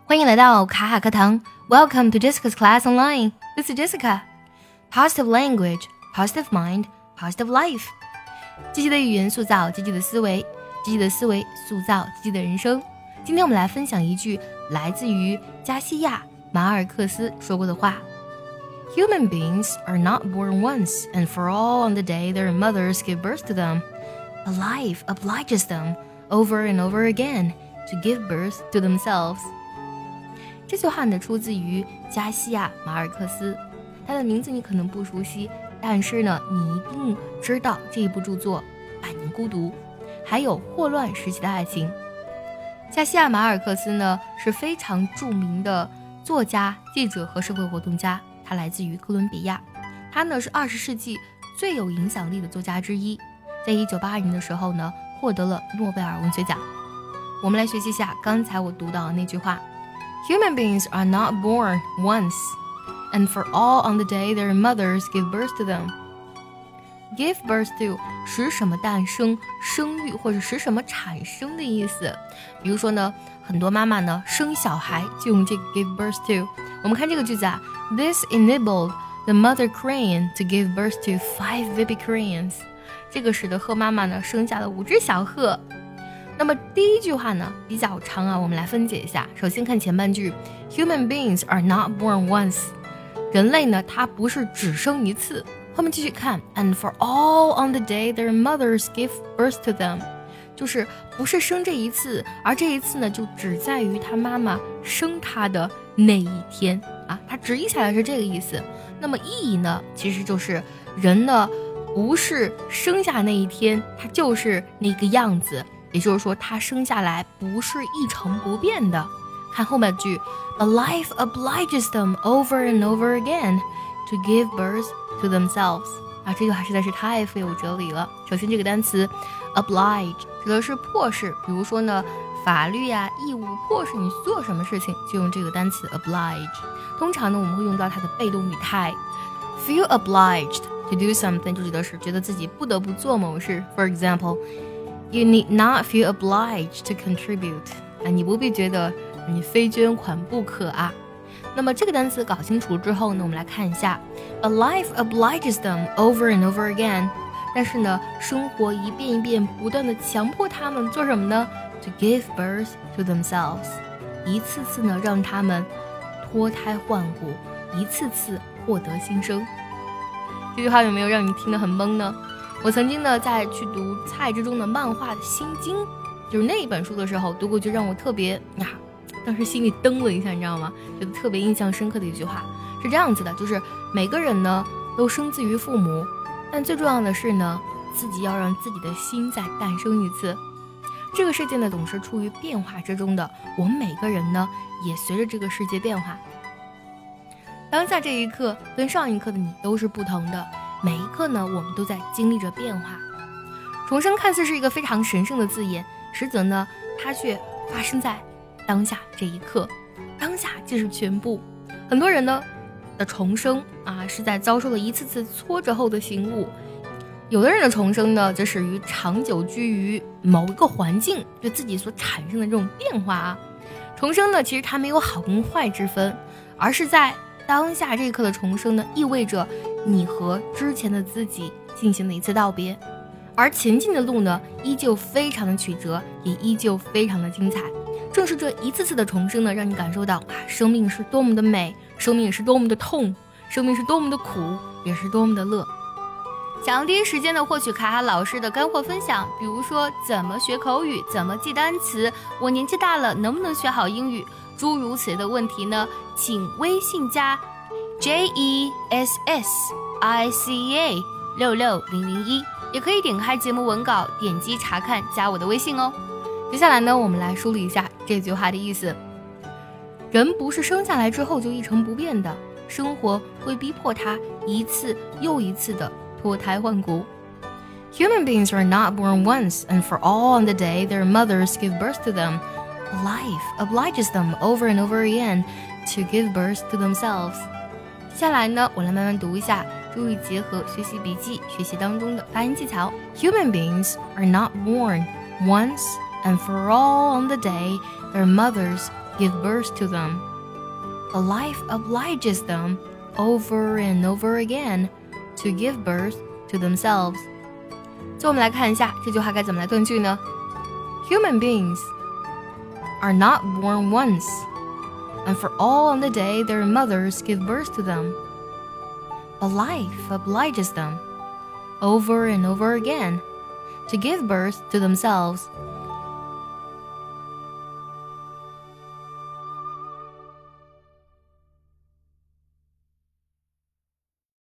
欢迎来到卡卡课堂 Welcome to Jessica's Class Online. This is Jessica. Positive language, positive mind, positive life. 积极的语言塑造积极的思维，积极的思维塑造积极的人生。今天我们来分享一句来自于加西亚马尔克斯说过的话。Human beings are not born once and for all on the day their mothers give birth to them. But life obliges them over and over again to give birth to themselves. 这句话呢出自于加西亚马尔克斯，他的名字你可能不熟悉，但是呢你一定知道这一部著作《百年孤独》还有霍乱时期的爱情。加西亚马尔克斯呢是非常著名的作家、记者和社会活动家，他来自于哥伦比亚，他呢是20世纪最有影响力的作家之一，在1982年的时候呢获得了诺贝尔文学奖。我们来学习一下刚才我读到的那句话。Human beings are not born once, and for all on the day their mothers give birth to them. Give birth to 使什么诞生、生育或者使什么产生的意思。比如说呢，很多妈妈呢生小孩就用这个 give birth to。我们看这个句子啊 ，This enabled the mother crane to give birth to 5 baby cranes。这个使得鹤妈妈呢生下了5只小鹤。那么第一句话呢比较长啊，我们来分解一下。首先看前半句 Human beings are not born once， 人类呢他不是只生一次。后面继续看 And for all on the day their mothers give birth to them， 就是不是生这一次，而这一次呢就只在于他妈妈生他的那一天啊，它直译下来是这个意思。那么意义呢其实就是人呢不是生下那一天他就是那个样子，也就是说他生下来不是一成不变的。看后半句 But life obliges them over and over again to give birth to themselves。 啊，这句话实在是太富有哲理了。首先这个单词 oblige 指的是迫使，比如说呢法律呀、义务迫使你做什么事情就用这个单词 oblige。 通常呢我们会用到它的被动语态 feel obliged to do something， 就指的是觉得自己不得不做某事。 For example, you need not feel obliged to contribute， 啊，你不必觉得你非捐款不可啊。那么这个单词搞清楚之后呢，我们来看一下 But life obliges them over and over again， 但是呢生活一遍一遍不断的强迫他们做什么呢？ To give birth to themselves， 一次次呢让他们脱胎换骨，一次次获得新生。这句话有没有让你听得很懵呢？我曾经呢在去读蔡之忠的漫画的心经，就是那一本书的时候读过，就让我特别当时心里噔了一下，你知道吗？觉得特别印象深刻的一句话是这样子的，就是每个人呢都生自于父母，但最重要的是呢自己要让自己的心再诞生一次。这个世界呢总是处于变化之中的，我们每个人呢也随着这个世界变化。当下这一刻跟上一刻的你都是不同的，每一刻呢我们都在经历着变化。重生看似是一个非常神圣的字眼，实则呢它却发生在当下这一刻，当下就是全部。很多人呢的重生啊是在遭受了一次次挫折后的醒悟，有的人的重生呢则始于长久居于某一个环境对自己所产生的这种变化啊。重生呢其实它没有好跟坏之分，而是在当下这一刻的重生呢意味着你和之前的自己进行了一次道别，而前进的路呢依旧非常的曲折，也依旧非常的精彩。正是这一次次的重生呢让你感受到生命是多么的美，生命也是多么的痛，生命是多么的苦，也是多么的乐。想要第一时间的获取卡卡老师的干货分享，比如说怎么学口语，怎么记单词，我年纪大了能不能学好英语，诸如此类的问题呢，请微信加 JESSICA66001，也可以点开节目文稿点击查看加我的微信哦。接下来呢我们来梳理一下这句话的意思。人不是生下来之后就一成不变的，生活会逼迫他一次又一次的脱胎换骨。 Human beings are not born once and for all on the day their mothers give birth to them. Life obliges them over and over again to give birth to themselves. 接下来呢我来慢慢读一下，注意结合学习笔记学习当中的发音技巧。 Human beings are not born once and for all on the day their mothers give birth to them. But life obliges them over and over again to give birth to themselves. 所以我们来看一下这句话该怎么来断句呢？ Human beings are not born once, and for all on the day their mothers give birth to them. But life obliges them over and over again to give birth to themselves.